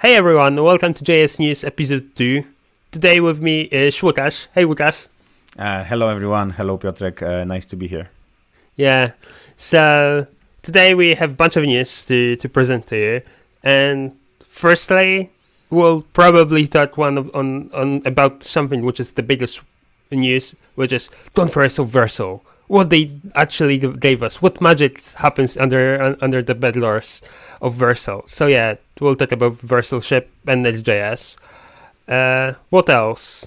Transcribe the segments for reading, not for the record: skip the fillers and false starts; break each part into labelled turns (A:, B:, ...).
A: Hey everyone, welcome to JS News Episode 2. Today with me is Łukasz. Hey Łukasz.
B: Hello everyone. Hello Piotrek. Nice to be here.
A: Yeah, so today we have a bunch of news to present to you. And firstly, we'll probably talk on about something which is the biggest news, which is Don't Vercel Vercel. What they actually gave us, what magic happens under the bed doors of Vercel. So yeah, we'll talk about Vercelship and Next.js. What else?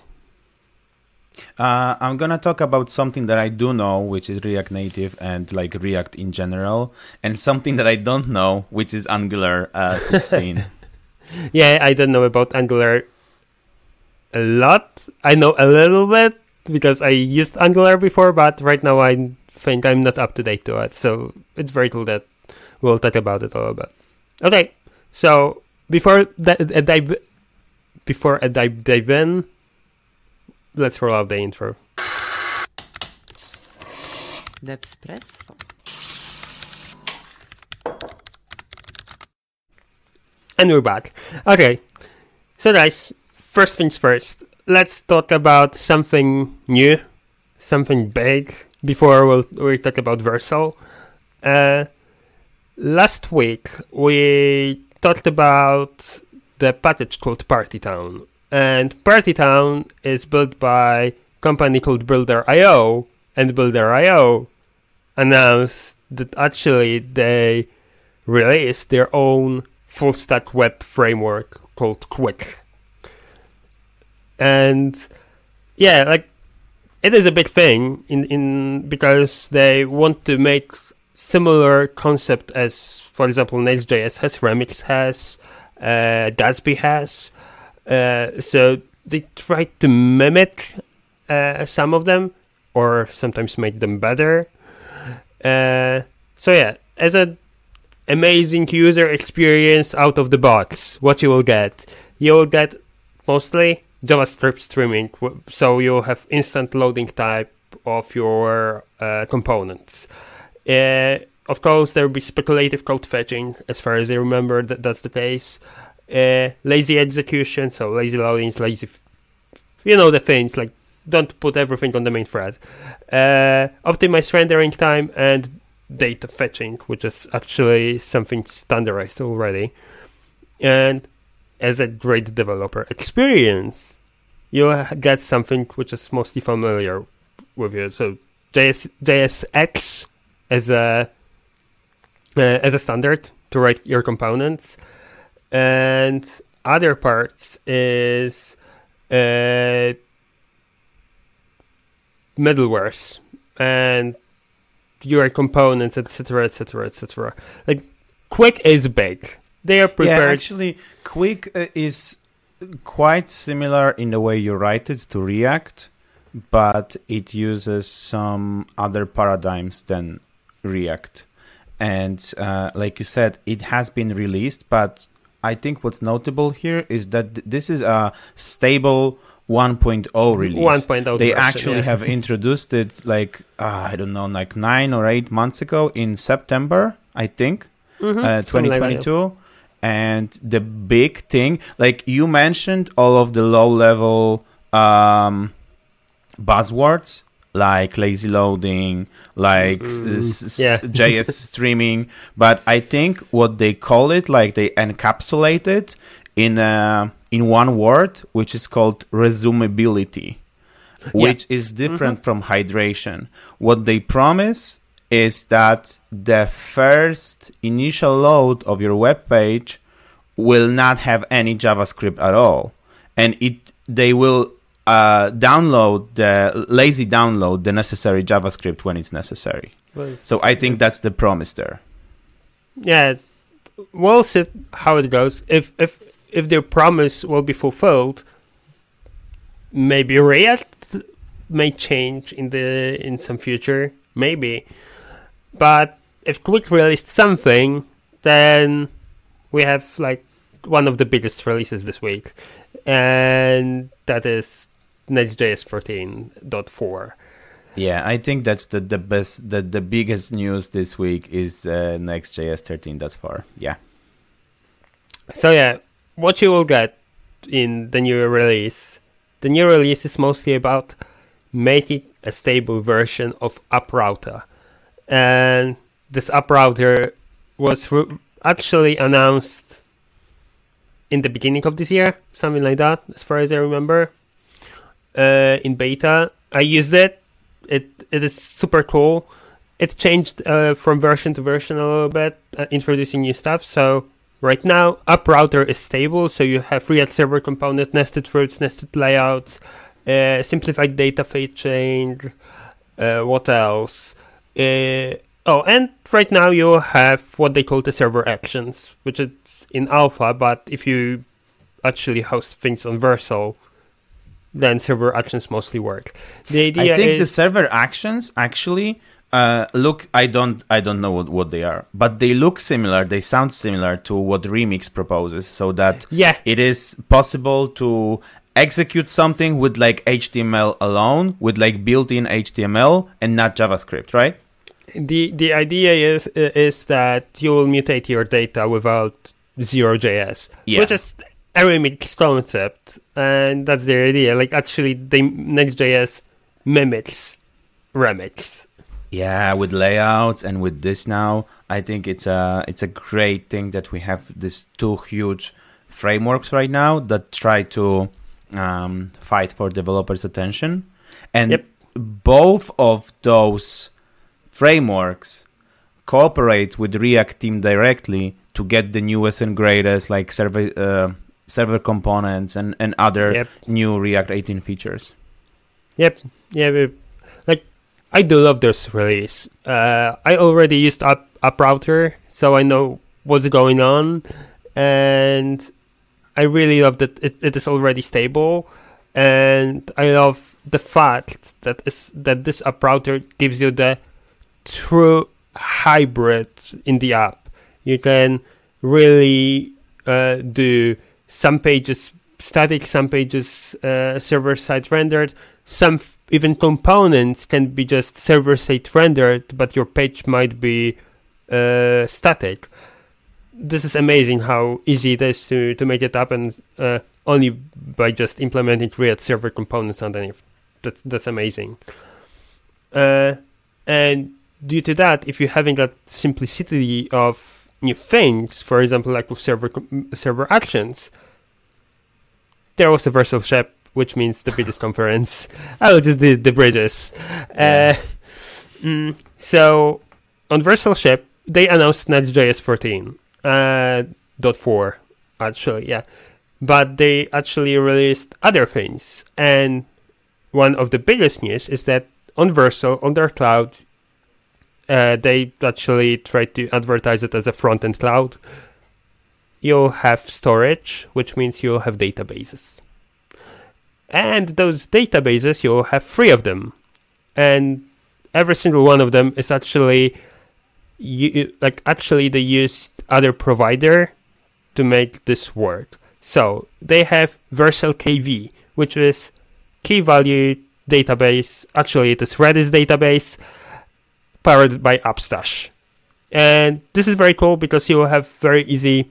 B: I'm gonna talk about something that I do know, which is React Native and like React in general, and something that I don't know, which is Angular 16.
A: Yeah, I don't know about Angular a lot. I know a little bit because I used Angular before, but right now I think I'm not up to date to it. So it's very cool that we'll talk about it a little bit. Okay, so before I dive in, let's roll out the intro.
C: Devspresso.
A: And we're back. Okay, so guys, first things first. Let's talk about something new, something big, before we'll talk about Vercel. Last week, we talked about the package called Partytown. And Partytown is built by a company called Builder.io, and Builder.io announced that actually they released their own full-stack web framework called Quick. And yeah, like it is a big thing in because they want to make similar concept as, for example, Next.js has, Remix has, Gatsby has. So they try to mimic some of them, or sometimes make them better. So yeah, as an amazing user experience out of the box, what you will get mostly JavaScript streaming, so you'll have instant loading type of your components. Of course, there will be speculative code fetching, as far as I remember, that's the case. Lazy execution, so lazy loadings, the things, like don't put everything on the main thread. Optimized rendering time and data fetching, which is actually something standardized already. And as a great developer experience, you get something which is mostly familiar with you. So JSX as a standard to write your components, and other parts is middlewares and your components, etc., etc., etc. Like Quick is big. They are prepared.
B: Yeah, actually, Quick is quite similar in the way you write it to React, but it uses some other paradigms than React. And like you said, it has been released, but I think what's notable here is that this is a stable 1.0 release.
A: 1.0
B: They
A: version,
B: actually
A: yeah.
B: have introduced it like 9 or 8 months ago in September, I think, 2022. And the big thing, like you mentioned, all of the low-level buzzwords like lazy loading, like JS streaming, but I think what they call it, like they encapsulate it in one word, which is called resumability, which is different from hydration. What they promise is that the first initial load of your web page will not have any JavaScript at all, and they will download the necessary JavaScript when it's necessary. So I think that's the promise there.
A: Yeah, we'll see how it goes. If their promise will be fulfilled, maybe React may change in some future, maybe. But if Quick released something, then we have like one of the biggest releases this week, and that is Next.js 14.4.
B: Yeah, I think that's the best, the biggest news this week is Next.js 13.4. Yeah.
A: So yeah, what you will get in the new release. The new release is mostly about making a stable version of UpRouter. And this UpRouter was actually announced in the beginning of this year, something like that, as far as I remember, in beta. I used it. It is super cool. It changed from version to version a little bit, introducing new stuff. So right now, UpRouter is stable. So you have React Server Component, nested routes, nested layouts, simplified data fetching. What else? And right now you have what they call the server actions, which is in alpha. But if you actually host things on Vercel, then server actions mostly work. The idea
B: I think
A: is
B: the server actions actually look. I don't know what they are, but they look similar. They sound similar to what Remix proposes, so that it is possible to execute something with like HTML alone, with like built-in HTML and not JavaScript, right?
A: The idea is that you will mutate your data without Zero.js, which is a Remix concept, and that's the idea. Like actually, Next.js mimics Remix.
B: Yeah, with layouts and with this now, I think it's a great thing that we have these two huge frameworks right now that try to fight for developers' attention, and both of those frameworks cooperate with React team directly to get the newest and greatest like server components and other new React 18 features.
A: Like I do love this release. I already used UpRouter, so I know what's going on, and I really love that it is already stable, and I love the fact that this UpRouter gives you the true hybrid in the app. You can really do some pages static, some pages server-side rendered, some even components can be just server-side rendered, but your page might be static. This is amazing how easy it is to make it happen only by just implementing React server components underneath. That's amazing. And due to that, if you're having that simplicity of new things, for example, like with server actions, there was a Vercel Shep, which means the biggest conference. I will just do the bridges. So on Vercel Shep, they announced Next.js 14.4, actually, yeah. But they actually released other things. And one of the biggest news is that on Vercel, on their cloud, they actually tried to advertise it as a front-end cloud. You'll have storage, which means you'll have databases. And those databases, you'll have 3 of them. And every single one of them is actually... they used other provider to make this work. So they have Vercel KV, which is key value database. Actually, it is Redis database powered by Upstash. And this is very cool because you will have very easy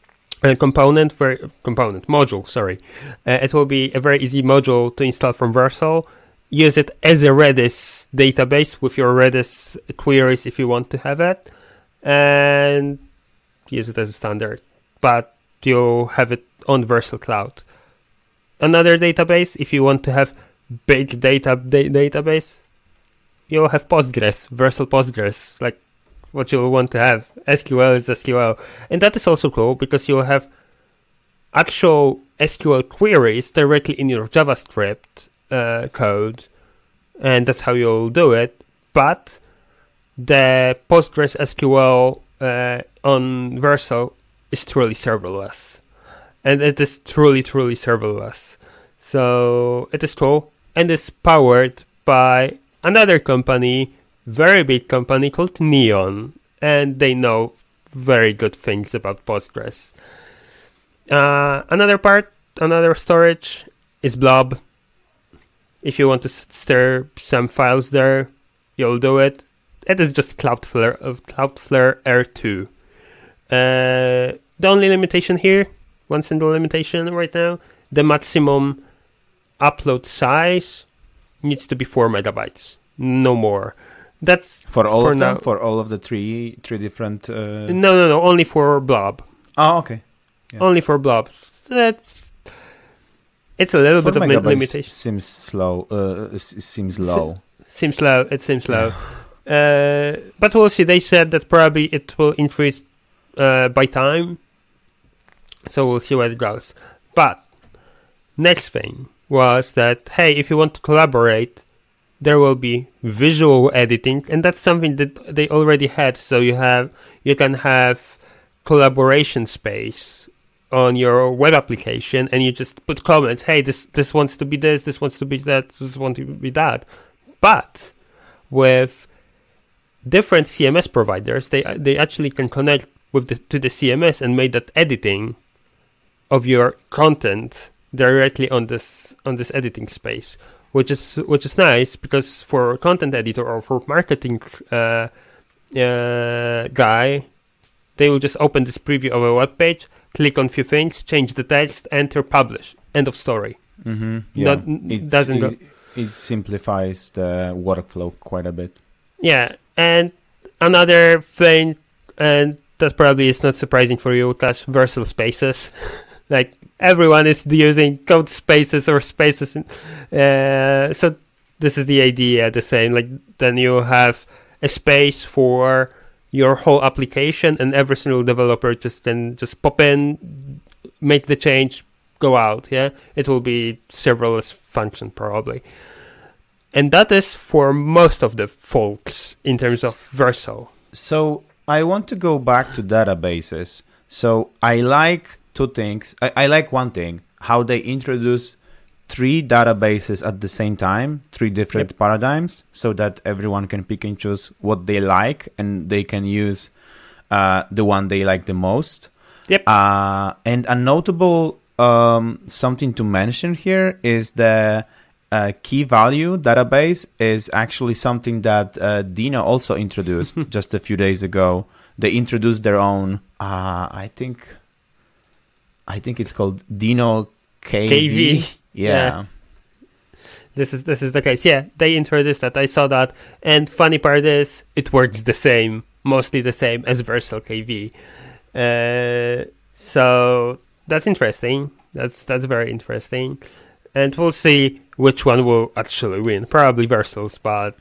A: module. It will be a very easy module to install from Vercel. Use it as a Redis database with your Redis queries if you want to have it, and use it as a standard. But you'll have it on Vercel Cloud. Another database, if you want to have big database, you'll have Postgres, Vercel Postgres, like what you'll want to have. SQL is SQL. And that is also cool because you'll have actual SQL queries directly in your JavaScript code, and that's how you'll do it. But the Postgres SQL on Vercel is truly serverless, and it is truly serverless. So it is cool, and it's powered by another company, very big company called Neon, and they know very good things about Postgres. Another storage is Blob. If you want to stir some files there, you'll do it. It is just Cloudflare R2. The only limitation here one single limitation right now. The maximum upload size needs to be 4 megabytes, no more. That's
B: for all
A: for
B: of them,
A: now.
B: for all of the three different.
A: No, only for Blob.
B: Oh, okay. Yeah.
A: Only for Blob. It's a little bit of limitation.
B: Seems slow. Seems low.
A: Seems low. It seems low. But we'll see. They said that probably it will increase by time. So we'll see where it goes. But next thing was that, hey, if you want to collaborate, there will be visual editing, and that's something that they already had. So you can have collaboration space on your web application, and you just put comments. Hey, this wants to be this wants to be that, this wants to be that. But with different CMS providers, they actually can connect to the CMS and make that editing of your content directly on this editing space, which is nice, because for a content editor or for marketing guy, they will just open this preview of a web page, click on a few things, change the text, enter, publish, end of story.
B: Mm-hmm. Yeah. It simplifies the workflow quite a bit.
A: Yeah, and another thing, and that probably is not surprising for you, Łukasz, Vercel spaces. Like, everyone is using code spaces or spaces. So this is the idea, the same. Like, then you have a space for your whole application, and every single developer can just pop in, make the change, go out. Yeah, it will be serverless function probably. And that is for most of the folks in terms of Vercel.
B: So I want to go back to databases. So I like two things. I like one thing, how they introduce 3 databases at the same time, 3 different paradigms, so that everyone can pick and choose what they like, and they can use the one they like the most.
A: Yep.
B: And a notable something to mention here is the key value database is actually something that Dino also introduced just a few days ago. They introduced their own, I think it's called Dino KV. Yeah.
A: This is the case. Yeah, they introduced that. I saw that. And funny part is, it works the same, mostly the same as Vercel KV. So that's interesting. That's very interesting. And we'll see which one will actually win. Probably Vercel's, but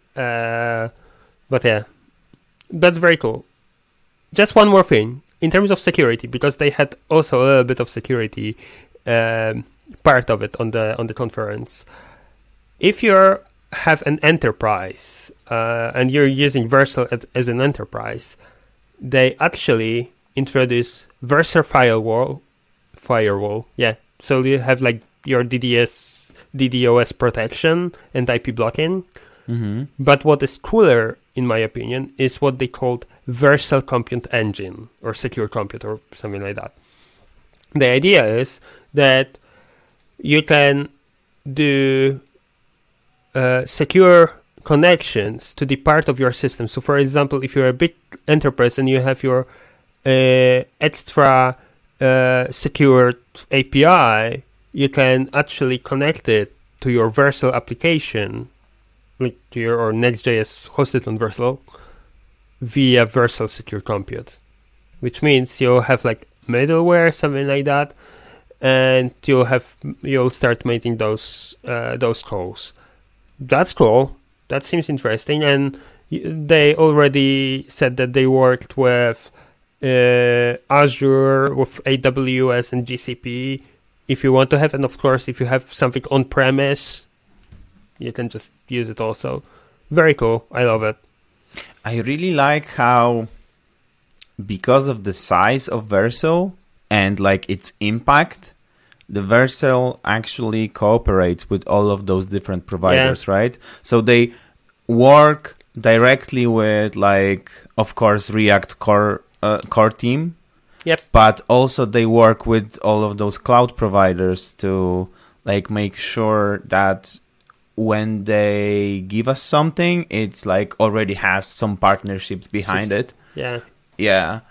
A: yeah, that's very cool. Just one more thing in terms of security, because they had also a little bit of security part of it on the conference. If you have an enterprise and you're using Vercel as an enterprise, they actually introduce Vercel firewall. Yeah, so you have like your DDoS protection and IP blocking.
B: Mm-hmm.
A: But what is cooler, in my opinion, is what they called Vercel Compute Engine or Secure Compute or something like that. The idea is that you can do secure connections to the part of your system. So, for example, if you're a big enterprise and you have your extra secured API, you can actually connect it to your Vercel application, like to your or Next.js hosted on Vercel, via Vercel Secure Compute, which means you'll have like middleware, something like that, and you'll start making those calls. That's cool. That seems interesting, and they already said that they worked with Azure, with AWS and GCP. If you want to have, and of course, if you have something on premise, you can just use it also. Very cool. I love it.
B: I really like how, because of the size of Vercel and like its impact, the Vercel actually cooperates with all of those different providers, right? So they work directly with, like, of course, React core team.
A: Yep.
B: But also they work with all of those cloud providers to like make sure that when they give us something, it's like already has some partnerships behind it.
A: Yeah.
B: Yeah.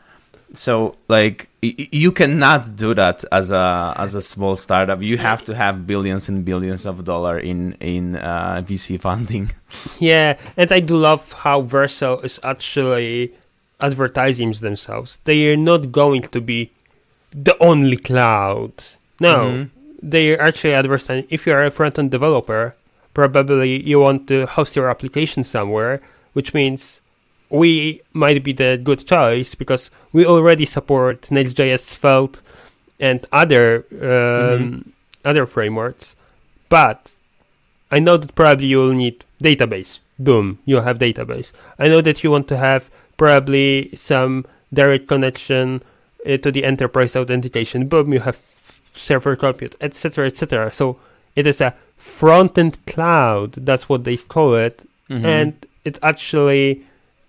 B: So like you cannot do that as a small startup. You have to have billions and billions of dollars in VC funding.
A: Yeah, and I do love how Vercel is actually advertising themselves. They are not going to be the only cloud. No, they are actually advertising. If you are a front-end developer, probably you want to host your application somewhere, which means we might be the good choice because we already support Next.js, Svelte, and other frameworks. But I know that probably you will need database. Boom, you have database. I know that you want to have probably some direct connection to the enterprise authentication. Boom, you have server compute, etc., etc. So it is a front-end cloud. That's what they call it, and it actually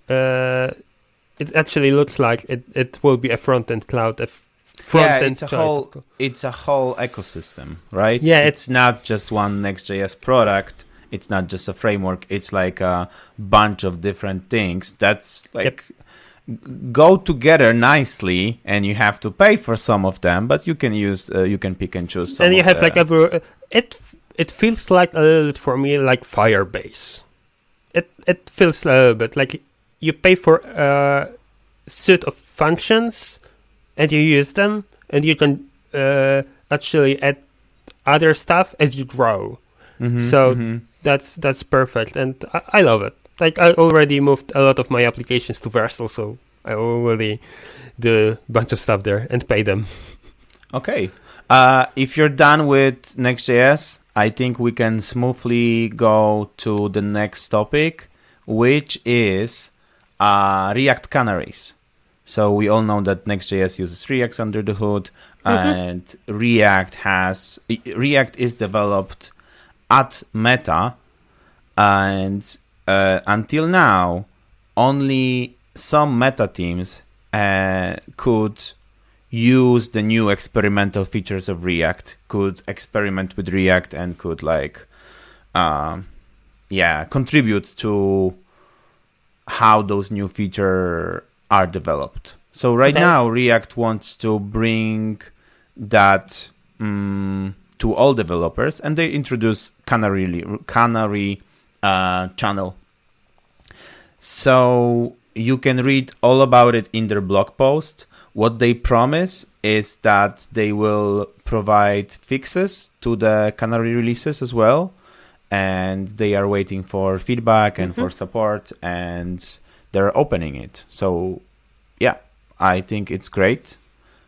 A: looks like it will be a front-end cloud.
B: It's a whole ecosystem, right?
A: Yeah,
B: it's not just one Next.js product. It's not just a framework. It's like a bunch of different things that's like go together nicely, and you have to pay for some of them, but you can pick and choose some.
A: And you have it feels like a little bit for me like Firebase. It feels a little bit like you pay for a set of functions and you use them, and you can actually add other stuff as you grow. That's perfect, and I love it. Like I already moved a lot of my applications to Vercel, so I already do a bunch of stuff there and pay them.
B: Okay. If you're done with Next.js, I think we can smoothly go to the next topic, which is React canaries. So we all know that Next.js uses React under the hood, and React is developed at Meta, and until now, only some Meta teams could use the new experimental features of React, could experiment with React, and could contribute to how those new features are developed. So now, React wants to bring that to all developers, and they introduce Canary channel. So you can read all about it in their blog post. What they promise is that they will provide fixes to the Canary releases as well, and they are waiting for feedback and for support, and they're opening it. So yeah, I think it's great.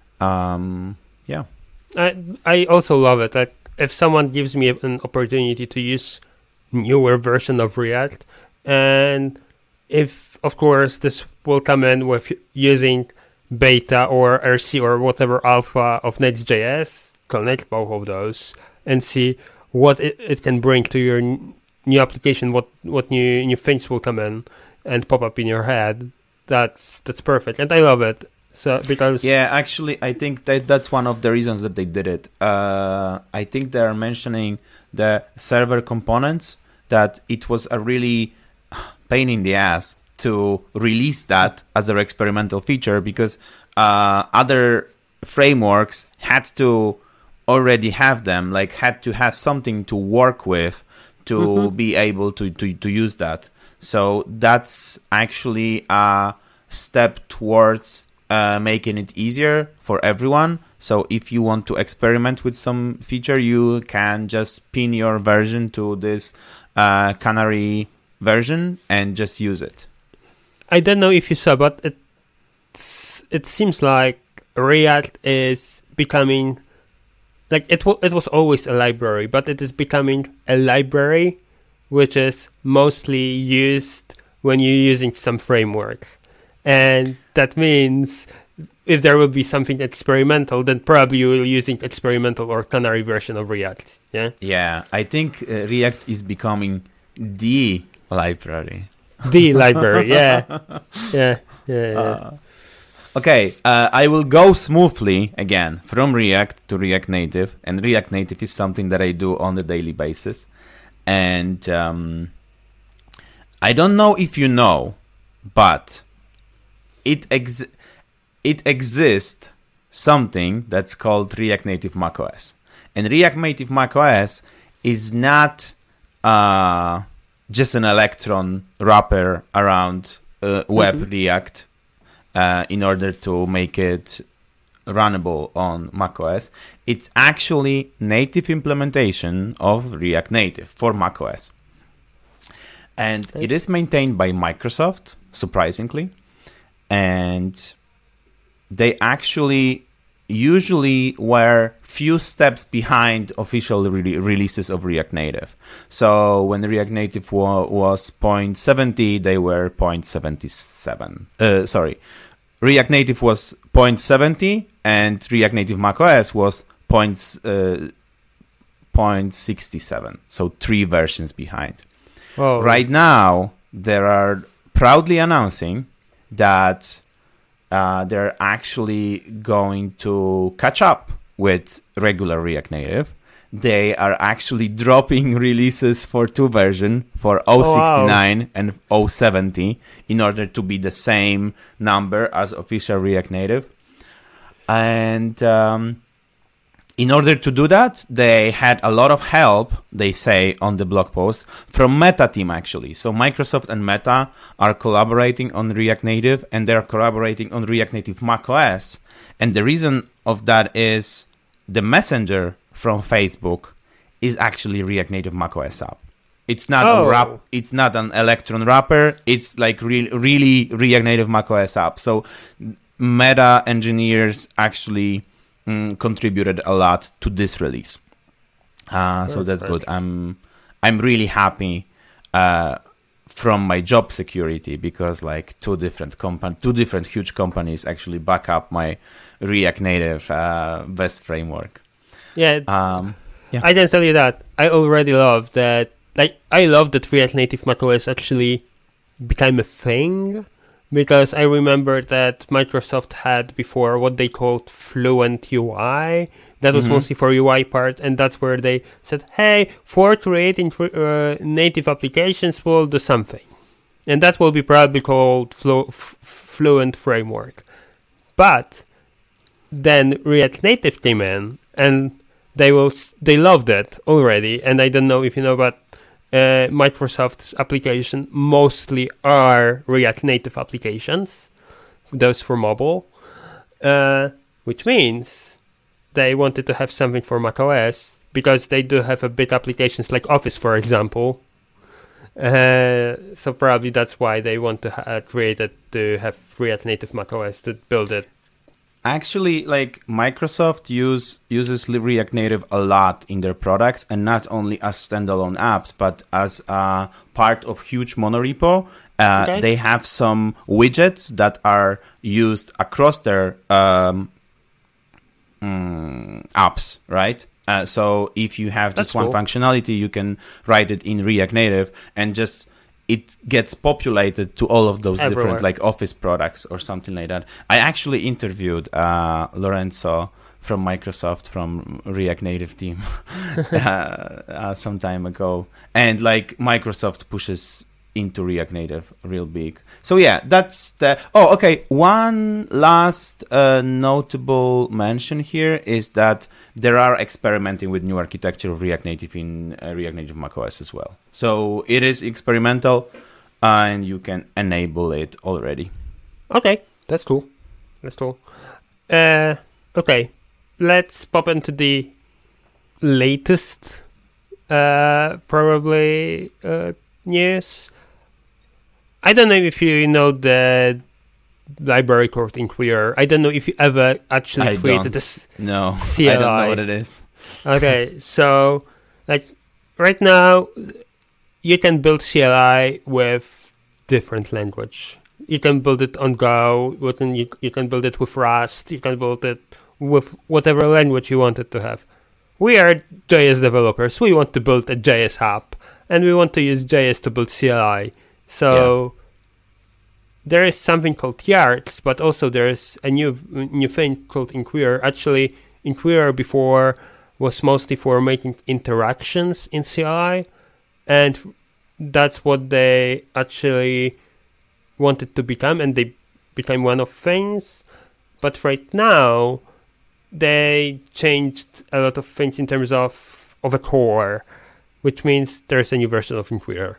A: I also love it. Like if someone gives me an opportunity to use newer version of React, and if of course this will come in with using beta or RC or whatever alpha of Next.js, connect both of those and see what it can bring to your new application, what new things will come in and pop up in your head. That's perfect, and I love it. So because
B: actually, I think that's one of the reasons that they did it. I think they are mentioning the server components, that it was a really pain in the ass to release that as an experimental feature, because other frameworks had to already have them, like had to have something to work with to be able to use that. So that's actually a step towards making it easier for everyone. So if you want to experiment with some feature, you can just pin your version to this Canary version and just use it.
A: I don't know if you saw, but it seems like React is becoming like it was always a library, but it is becoming a library which is mostly used when you're using some frameworks. And that means if there will be something experimental, then probably you're using experimental or Canary version of React. Yeah,
B: I think React is becoming the library.
A: The library, yeah.
B: Okay, I will go smoothly again from React to React Native, and React Native is something that I do on a daily basis. And I don't know if you know, but it exists something that's called React Native macOS. And React Native macOS is not just an Electron wrapper around web React in order to make it runnable on macOS. It's actually native implementation of React Native for macOS. And it is maintained by Microsoft, surprisingly. And they actually usually were few steps behind official releases of React Native. So when React Native was 0.70, they were 0.77. React Native was 0.70 and React Native macOS was 0.67. So 3 versions behind.
A: Oh.
B: Right now, they are proudly announcing that they're actually going to catch up with regular React Native. They are actually dropping releases for 2 versions, for 069 and 070, in order to be the same number as official React Native. And in order to do that, they had a lot of help, they say on the blog post, from Meta team actually. So Microsoft and Meta are collaborating on React Native, and they're collaborating on React Native macOS. And the reason of that is the Messenger from Facebook is actually React Native macOS app. It's not it's not an Electron wrapper. It's like really React Native macOS app. So Meta engineers actually contributed a lot to this release, so that's good. I'm really happy from my job security, because like two different huge companies actually back up my React Native best framework.
A: I can tell you that I already love that. Like, I love that React Native macOS actually became a thing. Because I remember that Microsoft had before what they called Fluent UI. That was mostly for UI part, and that's where they said, hey, for creating native applications, we'll do something. And that will be probably called Fluent Framework. But then React Native came in, and they loved it already. And I don't know if you know, but Microsoft's application mostly are React Native applications, those for mobile, which means they wanted to have something for macOS, because they do have a bit applications like Office, for example. So probably that's why they want to create it to have React Native macOS to build it.
B: Actually, like Microsoft uses React Native a lot in their products, and not only as standalone apps, but as part of huge monorepo. They have some widgets that are used across their apps, right? So if you have just one functionality, you can write it in React Native, and just it gets populated to all of those different like Office products or something like that. I actually interviewed Lorenzo from Microsoft, from React Native team some time ago. And like Microsoft pushes into React Native real big. So yeah, that's the... Oh, okay. One last notable mention here is that there are experimenting with new architecture of React Native in React Native macOS as well. So it is experimental, and you can enable it already.
A: Okay, that's cool. Okay, let's pop into the latest probably news. I don't know if you know the library called Inquirer. I don't know if you ever actually created this.
B: No,
A: CLI.
B: I don't know what it is.
A: Okay, so like right now, you can build CLI with different language. You can build it on Go. You can build it with Rust. You can build it with whatever language you want it to have. We are JS developers. We want to build a JS app, and we want to use JS to build CLI. So there is something called Yards, but also there is a new thing called Inquirer. Actually, Inquirer before was mostly for making interactions in CLI, and that's what they actually wanted to become, and they became one of things. But right now, they changed a lot of things in terms of a core, which means there's a new version of Inquirer.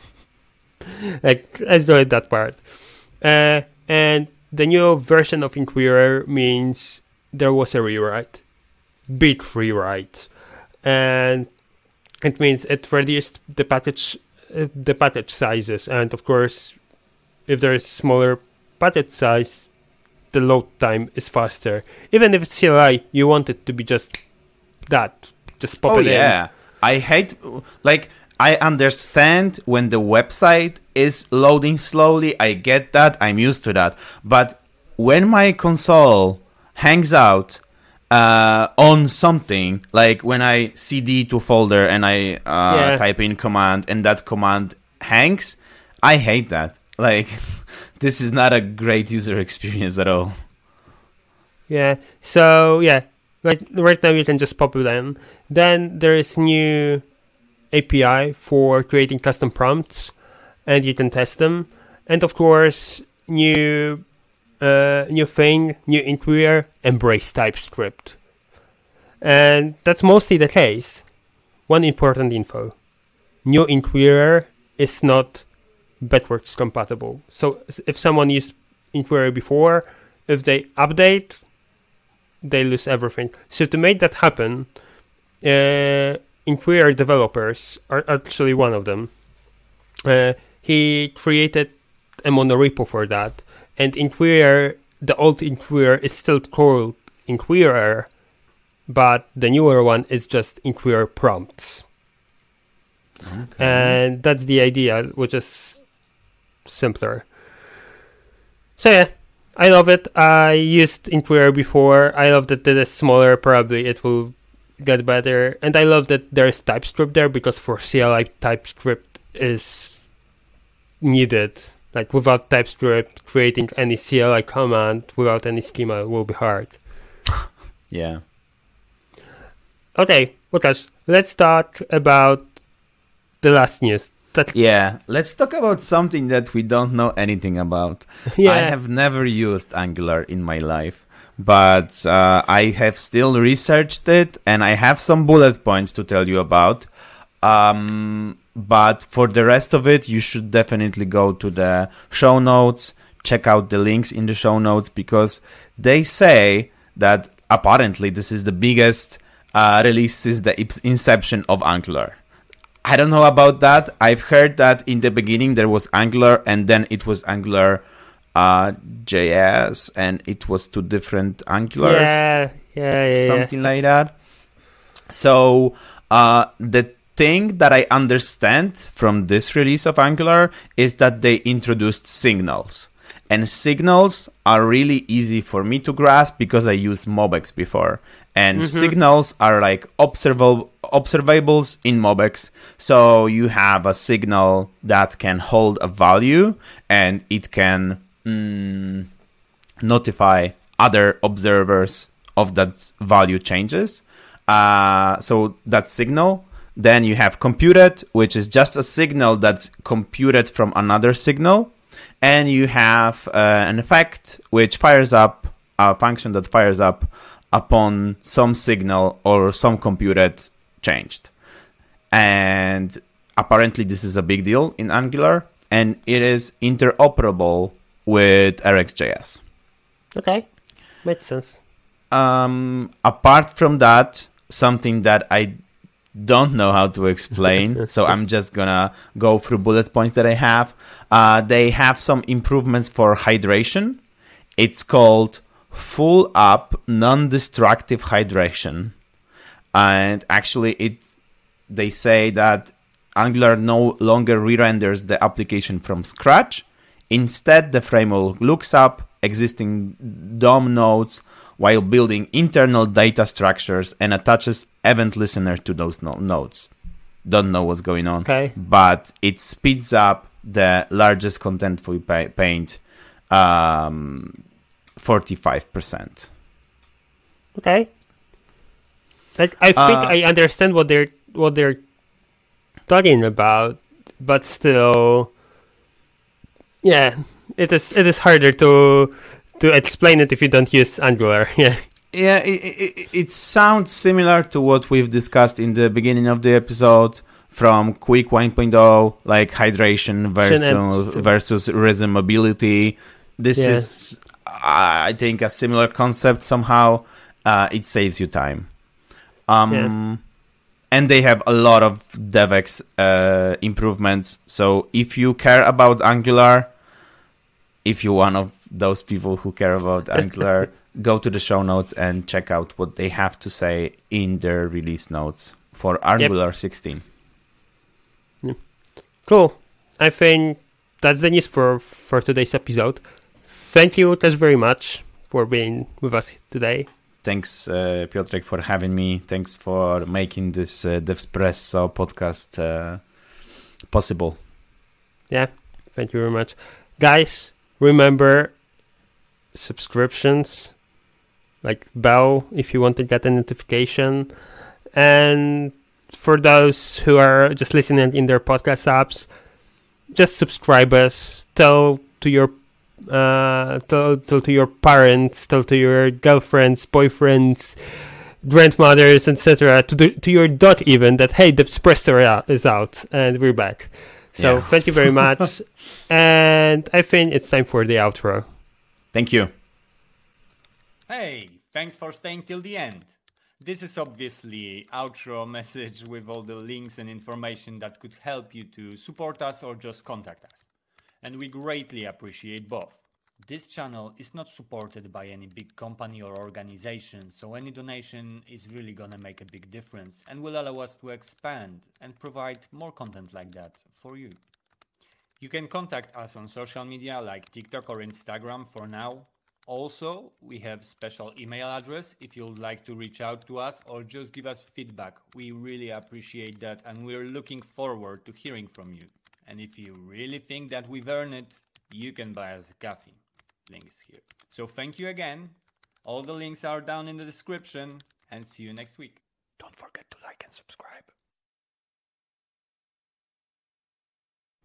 A: Like, let's go at that part. And the new version of Inquirer means there was a rewrite. Big rewrite. And it means it reduced the package sizes. And of course, if there is smaller package size, the load time is faster. Even if it's CLI, you want it to be just that. Just pop it in. Oh, yeah.
B: I hate... Like, I understand when the website is loading slowly. I get that. I'm used to that. But when my console hangs out on something, like when I cd to folder and I type in command and that command hangs, I hate that. Like, this is not a great user experience at all.
A: Yeah. So, yeah. Right now you can just pop it in. Then there is new API for creating custom prompts, and you can test them. And of course, new Inquirer, embrace TypeScript. And that's mostly the case. One important info. New Inquirer is not backwards compatible. So if someone used Inquirer before, if they update, they lose everything. So to make that happen, Inquirer developers are actually one of them. He created a monorepo for that, and Inquirer, the old Inquirer, is still called Inquirer, but the newer one is just Inquirer prompts. Okay. And that's the idea, which is simpler. So yeah, I love it. I used Inquirer before. I love that it is smaller. Probably it will get better. And I love that there is TypeScript there, because for CLI, TypeScript is needed. Like, without TypeScript, creating any CLI command without any schema will be hard.
B: Yeah.
A: Okay, Łukasz, let's talk about the last news.
B: Yeah, let's talk about something that we don't know anything about. Yeah. I have never used Angular in my life, but I have still researched it, and I have some bullet points to tell you about. But for the rest of it, you should definitely go to the show notes, check out the links in the show notes, because they say that apparently this is the biggest release since the inception of Angular. I don't know about that. I've heard that in the beginning there was Angular, and then it was Angular JS, and it was two different Angulars. Yeah. Something like that. So the thing that I understand from this release of Angular is that they introduced signals. And signals are really easy for me to grasp because I used MobX before. And signals are like observables in MobX. So you have a signal that can hold a value, and it can notify other observers of that value changes. So that signal. Then you have computed, which is just a signal that's computed from another signal. And you have an effect which fires up, a function that fires up upon some signal or some computed changed. And apparently this is a big deal in Angular, and it is interoperable with RxJS.
A: Okay, makes sense.
B: Apart from that, something that I don't know how to explain, so I'm just gonna go through bullet points that I have. They have some improvements for hydration. It's called full up non-destructive hydration, and actually they say that Angular no longer re-renders the application from scratch. Instead, the framework looks up existing DOM nodes while building internal data structures and attaches event listener to those nodes. Don't know what's going on,
A: okay,
B: but it speeds up the largest contentful paint 45%.
A: Okay. Like, I think I understand what they're talking about, but still, yeah, it is harder to to explain it if you don't use Angular. Yeah.
B: Yeah, it sounds similar to what we've discussed in the beginning of the episode from Quick 1.0, like hydration versus resin mobility. This is, I think, a similar concept somehow. It saves you time. And they have a lot of DevX improvements. So if you care about Angular, if you're one of those people who care about Angular, go to the show notes and check out what they have to say in their release notes for Angular 16.
A: Cool. I think that's the news for today's episode. Thank you, Łukasz, very much for being with us today.
B: Thanks, Piotrek, for having me. Thanks for making this Devspresso podcast possible.
A: Yeah, thank you very much. Guys, remember subscriptions, like bell if you want to get a notification. And for those who are just listening in their podcast apps, just subscribe us. Tell to your parents, tell to your girlfriends, boyfriends, grandmothers, etc. To your dog even that hey, Devspresso is out and we're back. So thank you very much. And I think it's time for the outro.
B: Thank you.
D: Hey, thanks for staying till the end. This is obviously outro message with all the links and information that could help you to support us or just contact us. And we greatly appreciate both. This channel is not supported by any big company or organization, so any donation is really gonna make a big difference and will allow us to expand and provide more content like that for you. You can contact us on social media like TikTok or Instagram for now. Also, we have special email address if you'd like to reach out to us or just give us feedback. We really appreciate that and we're looking forward to hearing from you. And if you really think that we've earned it, you can buy us a coffee. Link is here. So thank you again. All the links are down in the description and see you next week. Don't forget to like and subscribe.